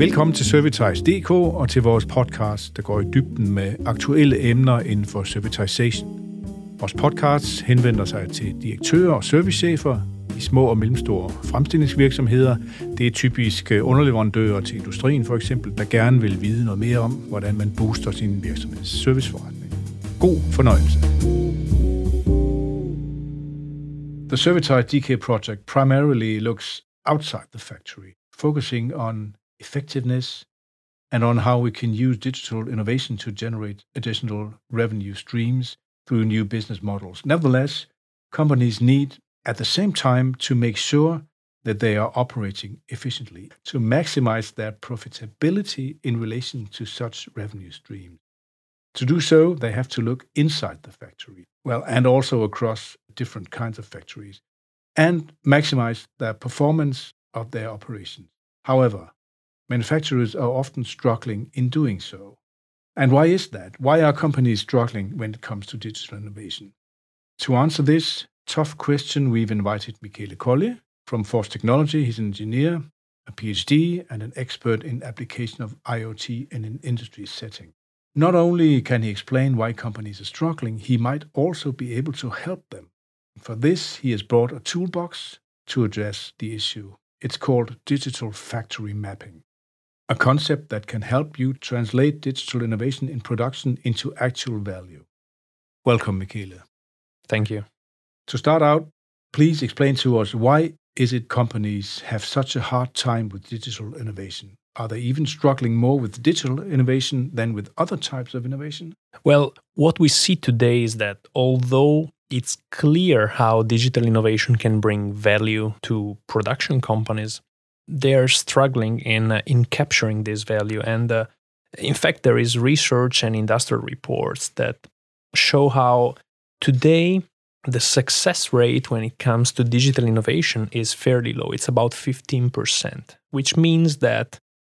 Velkommen til Servitize.dk og til vores podcast, der går i dybden med aktuelle emner inden for servitization. Vores podcast henvender sig til direktører og servicechefer i små og mellemstore fremstillingsvirksomheder. Det er typisk underleverandører til industrien for eksempel, der gerne vil vide noget mere om, hvordan man booster sin virksomheds serviceforretning. God fornøjelse. The Servitize.dk project primarily looks outside the factory, focusing on effectiveness and on how we can use digital innovation to generate additional revenue streams through new business models. Nevertheless, companies need at the same time to make sure that they are operating efficiently to maximize their profitability in relation to such revenue streams. To do so, they have to look inside the factory, and also across different kinds of factories, and maximize the performance of their operations. However, manufacturers are often struggling in doing so. And why is that? Why are companies struggling when it comes to digital innovation? To answer this tough question, we've invited Michele Colli from Force Technology. He's an engineer, a PhD, and an expert in application of IoT in an industry setting. Not only can he explain why companies are struggling, he might also be able to help them. For this, he has brought a toolbox to address the issue. It's called digital factory mapping, a concept that can help you translate digital innovation in production into actual value. Welcome, Michele. Thank you. To start out, please explain to us, why is it companies have such a hard time with digital innovation? Are they even struggling more with digital innovation than with other types of innovation? Well, what we see today is that although it's clear how digital innovation can bring value to production companies, they're struggling in capturing this value. And in fact, there is research and industrial reports that show how today the success rate when it comes to digital innovation is fairly low. It's about 15%, which means that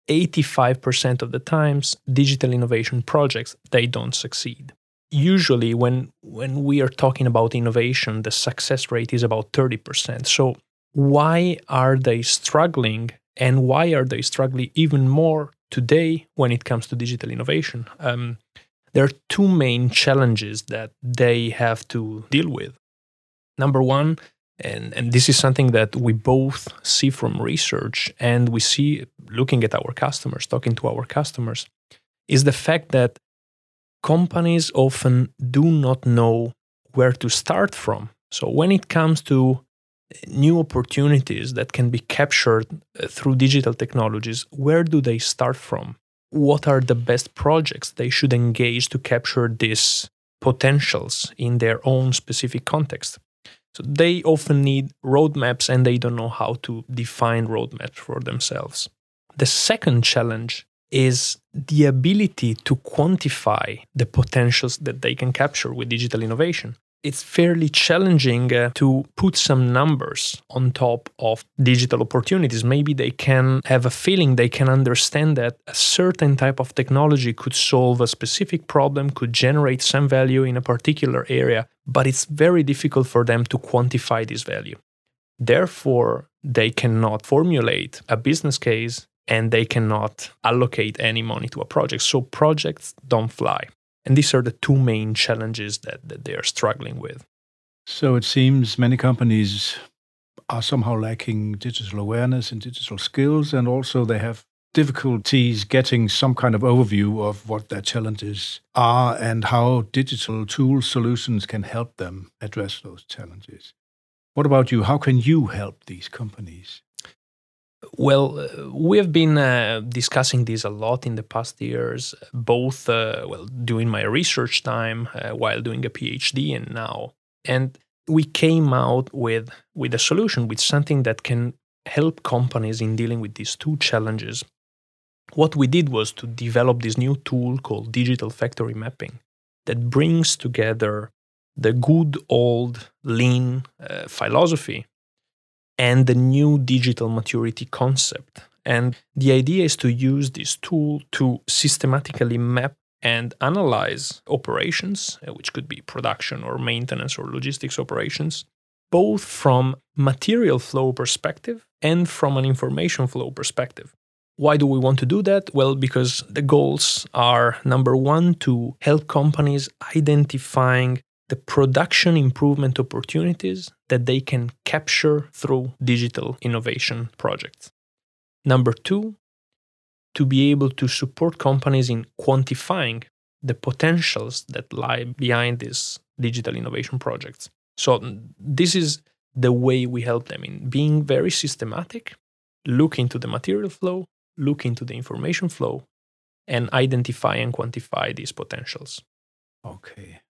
85% of the times, digital innovation projects, they don't succeed. Usually, when we are talking about innovation, the success rate is about 30%. So why are they struggling, and why are they struggling even more today when it comes to digital innovation? There are two main challenges that they have to deal with. Number one, and this is something that we both see from research and we see looking at our customers, talking to our customers, is the fact that companies often do not know where to start from. So when it comes to new opportunities that can be captured through digital technologies, where do they start from? What are the best projects they should engage to capture these potentials in their own specific context? So they often need roadmaps and they don't know how to define roadmaps for themselves. The second challenge is the ability to quantify the potentials that they can capture with digital innovation. It's fairly challenging to put some numbers on top of digital opportunities. Maybe they can have a feeling, they can understand that a certain type of technology could solve a specific problem, could generate some value in a particular area, but it's very difficult for them to quantify this value. Therefore, they cannot formulate a business case and they cannot allocate any money to a project. So projects don't fly. And these are the two main challenges that they are struggling with. So it seems many companies are somehow lacking digital awareness and digital skills, and also they have difficulties getting some kind of overview of what their challenges are and how digital tool solutions can help them address those challenges. What about you? How can you help these companies? Well, we have been discussing this a lot in the past years, both during my research time, while doing a PhD, and now. And we came out with a solution, with something that can help companies in dealing with these two challenges. What we did was to develop this new tool called digital factory mapping that brings together the good old lean philosophy and the new digital maturity concept. And the idea is to use this tool to systematically map and analyze operations, which could be production or maintenance or logistics operations, both from material flow perspective and from an information flow perspective. Why do we want to do that? Well, because the goals are, number one, to help companies identifying the production improvement opportunities that they can capture through digital innovation projects. Number two, to be able to support companies in quantifying the potentials that lie behind these digital innovation projects. So this is the way we help them in being very systematic, look into the material flow, look into the information flow, and identify and quantify these potentials. Okay.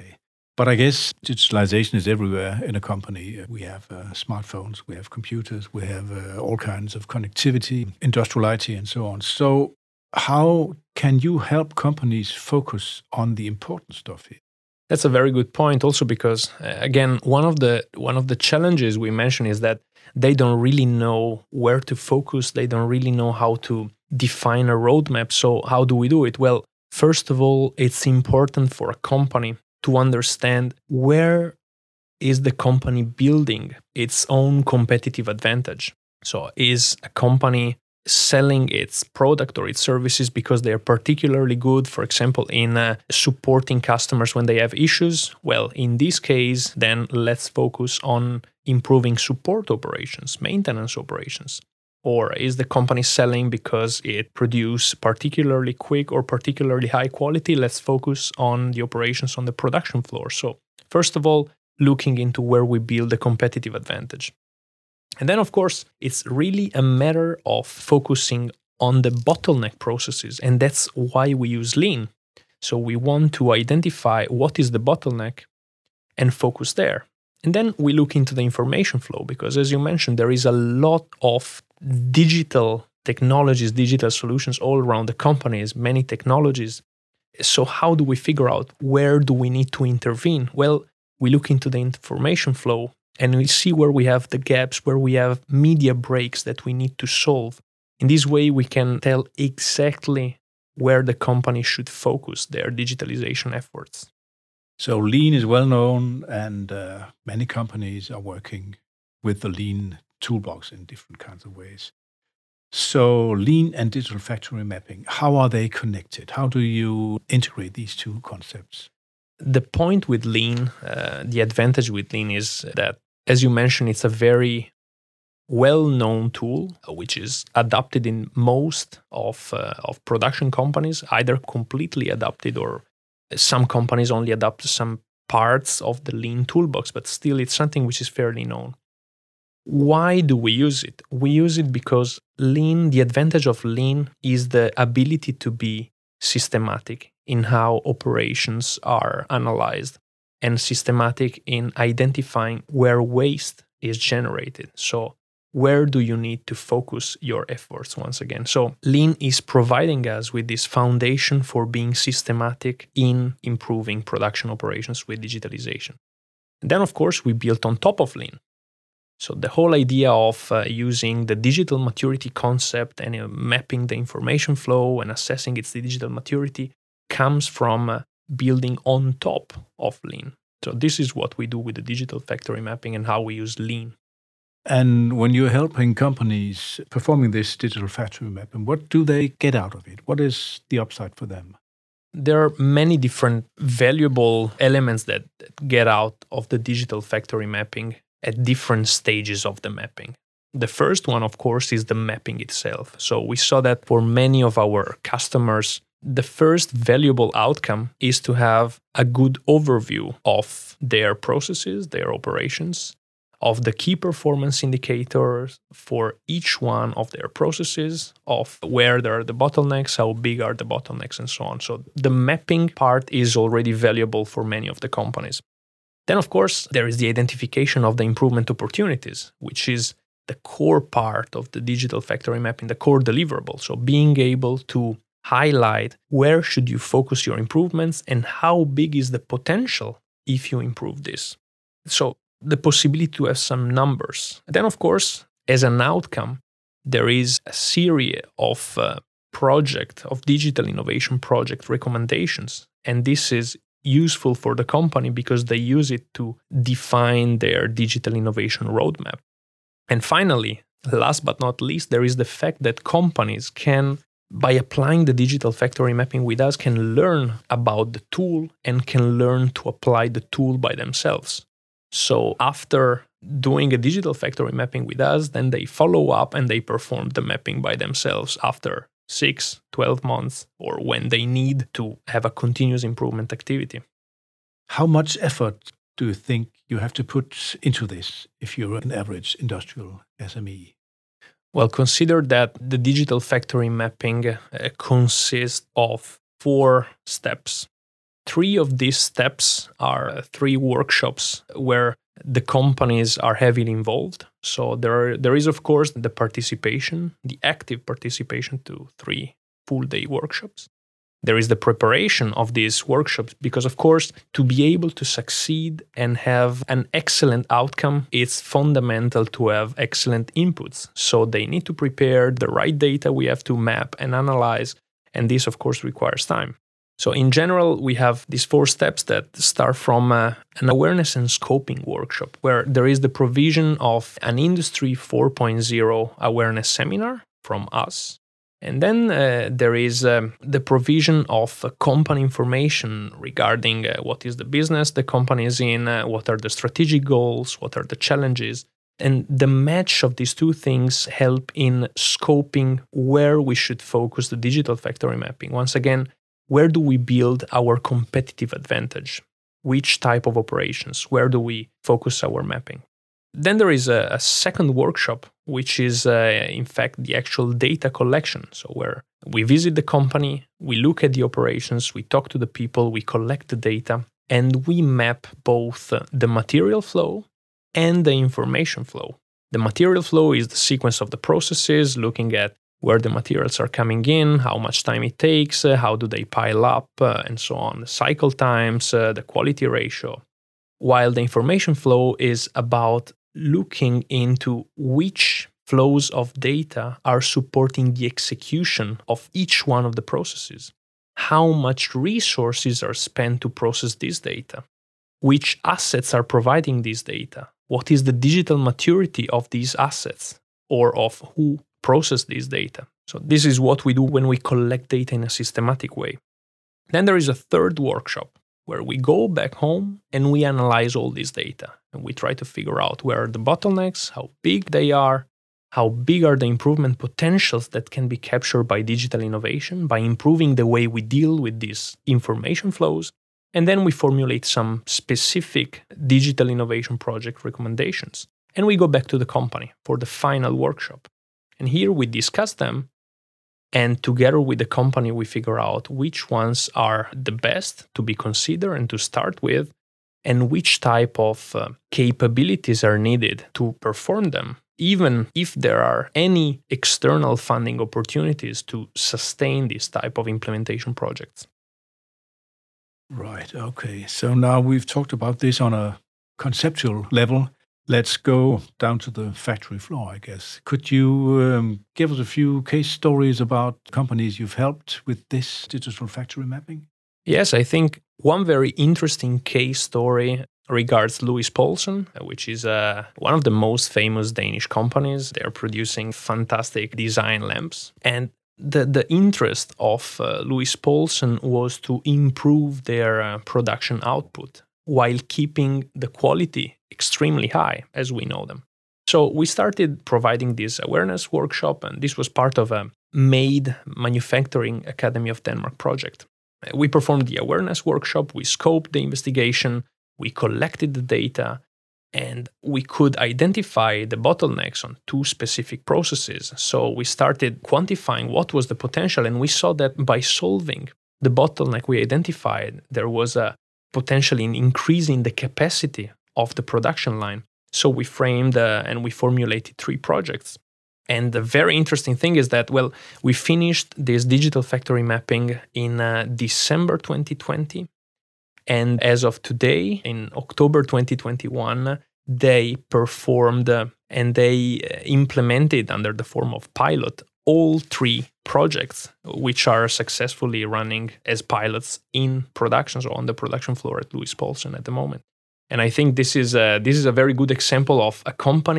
But I guess digitalization is everywhere in a company. We have smartphones, we have computers, we have all kinds of connectivity, industrial IT, and so on. So how can you help companies focus on the important stuff here? That's a very good point. Also, because again, one of the challenges we mentioned is that they don't really know where to focus. They don't really know how to define a roadmap. So how do we do it? Well, first of all, it's important for a company to understand where is the company building its own competitive advantage. So is a company selling its product or its services because they are particularly good, for example, in supporting customers when they have issues? Well, in this case, then let's focus on improving support operations, maintenance operations. Or is the company selling because it produces particularly quick or particularly high quality? Let's focus on the operations on the production floor. So first of all, looking into where we build a competitive advantage. And then, of course, it's really a matter of focusing on the bottleneck processes. And that's why we use Lean. So we want to identify what is the bottleneck and focus there. And then we look into the information flow because, as you mentioned, there is a lot of digital technologies, digital solutions all around the companies, many technologies. So how do we figure out where do we need to intervene? Well, we look into the information flow and we see where we have the gaps, where we have media breaks that we need to solve. In this way, we can tell exactly where the company should focus their digitalization efforts. So Lean is well known, and many companies are working with the Lean toolbox in different kinds of ways. So Lean and digital factory mapping, how are they connected? How do you integrate these two concepts? The point with Lean, the advantage with Lean is that, as you mentioned, it's a very well-known tool, which is adopted in most of production companies, either completely adopted or some companies only adopt some parts of the Lean toolbox, but still it's something which is fairly known. Why do we use it? We use it because Lean, the advantage of Lean is the ability to be systematic in how operations are analyzed and systematic in identifying where waste is generated. So where do you need to focus your efforts once again? So Lean is providing us with this foundation for being systematic in improving production operations with digitalization. And then, of course, we built on top of Lean. So the whole idea of using the digital maturity concept and mapping the information flow and assessing its digital maturity comes from building on top of Lean. So this is what we do with the digital factory mapping and how we use Lean. And when you're helping companies performing this digital factory mapping, what do they get out of it? What is the upside for them? There are many different valuable elements that get out of the digital factory mapping at different stages of the mapping. The first one, of course, is the mapping itself. So we saw that for many of our customers, the first valuable outcome is to have a good overview of their processes, their operations, of the key performance indicators for each one of their processes, of where there are the bottlenecks, how big are the bottlenecks, and so on. So the mapping part is already valuable for many of the companies. Then, of course, there is the identification of the improvement opportunities, which is the core part of the digital factory mapping, the core deliverable. So being able to highlight where should you focus your improvements and how big is the potential if you improve this. So the possibility to have some numbers. Then, of course, as an outcome, there is a series of digital innovation project recommendations. And this is useful for the company because they use it to define their digital innovation roadmap. And finally, last but not least, there is the fact that companies can, by applying the digital factory mapping with us, can learn about the tool and can learn to apply the tool by themselves. So after doing a digital factory mapping with us, then they follow up and they perform the mapping by themselves after 6, 12 months, or when they need to have a continuous improvement activity. How much effort do you think you have to put into this if you're an average industrial SME? Well, consider that the digital factory mapping consists of 4 steps. 3 of these steps are 3 workshops where the companies are heavily involved. So there is, of course, the participation, the active participation to 3 full-day workshops. There is the preparation of these workshops because, of course, to be able to succeed and have an excellent outcome, it's fundamental to have excellent inputs. So they need to prepare the right data we have to map and analyze, and this, of course, requires time. So in general, we have these 4 steps that start from an awareness and scoping workshop, where there is the provision of an Industry 4.0 awareness seminar from us. And then there is the provision of company information regarding what is the business the company is in, what are the strategic goals, what are the challenges. And the match of these 2 things help in scoping where we should focus the digital factory mapping. Once again, where do we build our competitive advantage? Which type of operations? Where do we focus our mapping? Then there is a second workshop, which is in fact the actual data collection. So where we visit the company, we look at the operations, we talk to the people, we collect the data, and we map both the material flow and the information flow. The material flow is the sequence of the processes, looking at where the materials are coming in, how much time it takes, how do they pile up, and so on, the cycle times, the quality ratio. While the information flow is about looking into which flows of data are supporting the execution of each one of the processes. How much resources are spent to process this data? Which assets are providing this data? What is the digital maturity of these assets or of who process this data? So this is what we do when we collect data in a systematic way. Then there is a third workshop where we go back home and we analyze all this data. And we try to figure out where are the bottlenecks, how big they are, how big are the improvement potentials that can be captured by digital innovation, by improving the way we deal with these information flows. And then we formulate some specific digital innovation project recommendations. And we go back to the company for the final workshop. And here we discuss them. And together with the company, we figure out which ones are the best to be considered and to start with, and which type of capabilities are needed to perform them, even if there are any external funding opportunities to sustain this type of implementation projects. Right, okay. So now we've talked about this on a conceptual level. Let's go down to the factory floor, I guess. Could you give us a few case stories about companies you've helped with this digital factory mapping? Yes, I think one very interesting case story regards Louis Poulsen, which is one of the most famous Danish companies. They are producing fantastic design lamps. And the interest of Louis Poulsen was to improve their production output while keeping the quality extremely high, as we know them. So we started providing this awareness workshop, and this was part of a MADE Manufacturing Academy of Denmark project. We performed the awareness workshop, we scoped the investigation, we collected the data, and we could identify the bottlenecks on 2 specific processes. So we started quantifying what was the potential, and we saw that by solving the bottleneck we identified, there was a potentially an increase in the capacity of the production line. So we framed and we formulated 3 projects. And the very interesting thing is that, well, we finished this digital factory mapping in December 2020. And as of today, in October 2021, they performed and they implemented under the form of pilot all 3 projects, which are successfully running as pilots in production, so on the production floor at Louis Poulsen at the moment. And I think this is a very good example of a company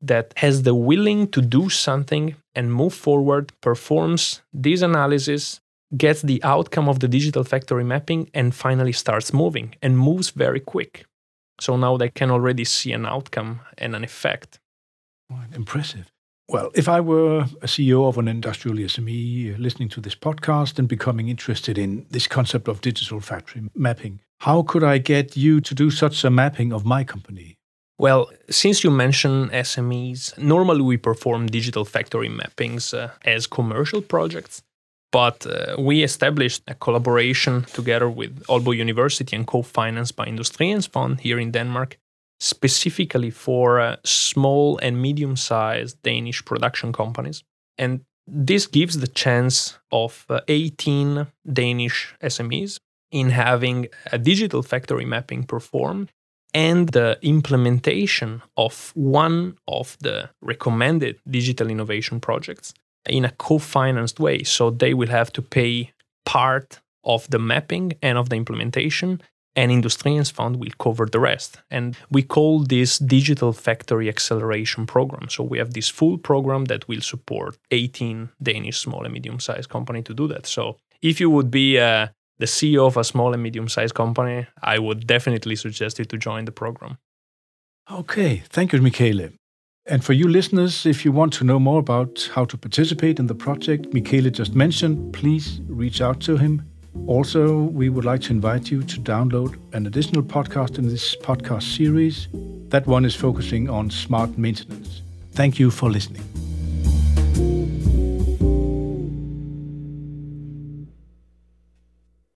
that has the willing to do something and move forward, performs this analysis, gets the outcome of the digital factory mapping, and finally starts moving and moves very quick. So now they can already see an outcome and an effect. Impressive. Well, if I were a CEO of an industrial SME listening to this podcast and becoming interested in this concept of digital factory mapping, how could I get you to do such a mapping of my company? Well, since you mentioned SMEs, normally we perform digital factory mappings as commercial projects, but we established a collaboration together with Aalborg University and co-financed by Industriens Fund here in Denmark, specifically for small and medium-sized Danish production companies. And this gives the chance of 18 Danish SMEs in having a digital factory mapping performed and the implementation of one of the recommended digital innovation projects in a co-financed way. So they will have to pay part of the mapping and of the implementation, and Industriens Fund will cover the rest. And we call this Digital Factory Acceleration Program. So we have this full program that will support 18 Danish small and medium-sized companies to do that. So if you would be the CEO of a small and medium-sized company, I would definitely suggest you to join the program. Okay, thank you, Michele. And for you listeners, if you want to know more about how to participate in the project Michele just mentioned, please reach out to him. Also, we would like to invite you to download an additional podcast in this podcast series. That one is focusing on smart maintenance. Thank you for listening.